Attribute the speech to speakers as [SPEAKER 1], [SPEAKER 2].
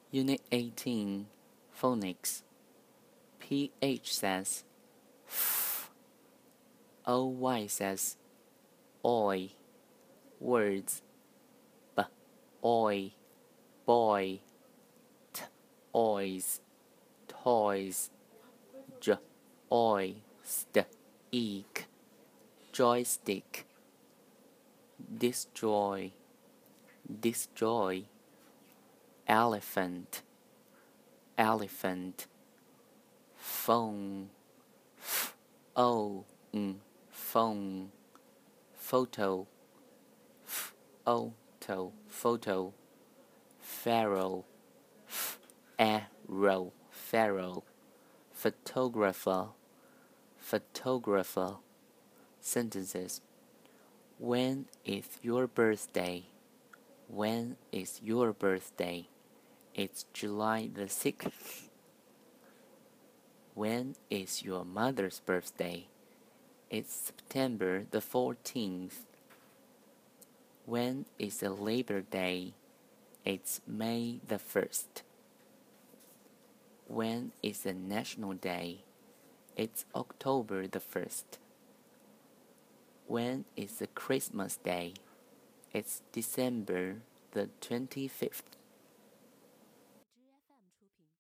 [SPEAKER 1] Unit 18, Phonics. PH says f, OY says oi. Words b, oi, boy, t, ois, toys, j, oi, st, eek, joystick, destroy, destroy, elephant, elephant, phone, phone, photo, photo, pharaoh, arrow, pharaoh, photographer, photographer. Sentences. When is your birthday? When is your birthday? It's July the 6th. When is your mother's birthday? It's September the 14th. When is the Labor Day? It's May the 1st. When is the National Day? It's October the 1st. When is the Christmas Day? It's December the 25th.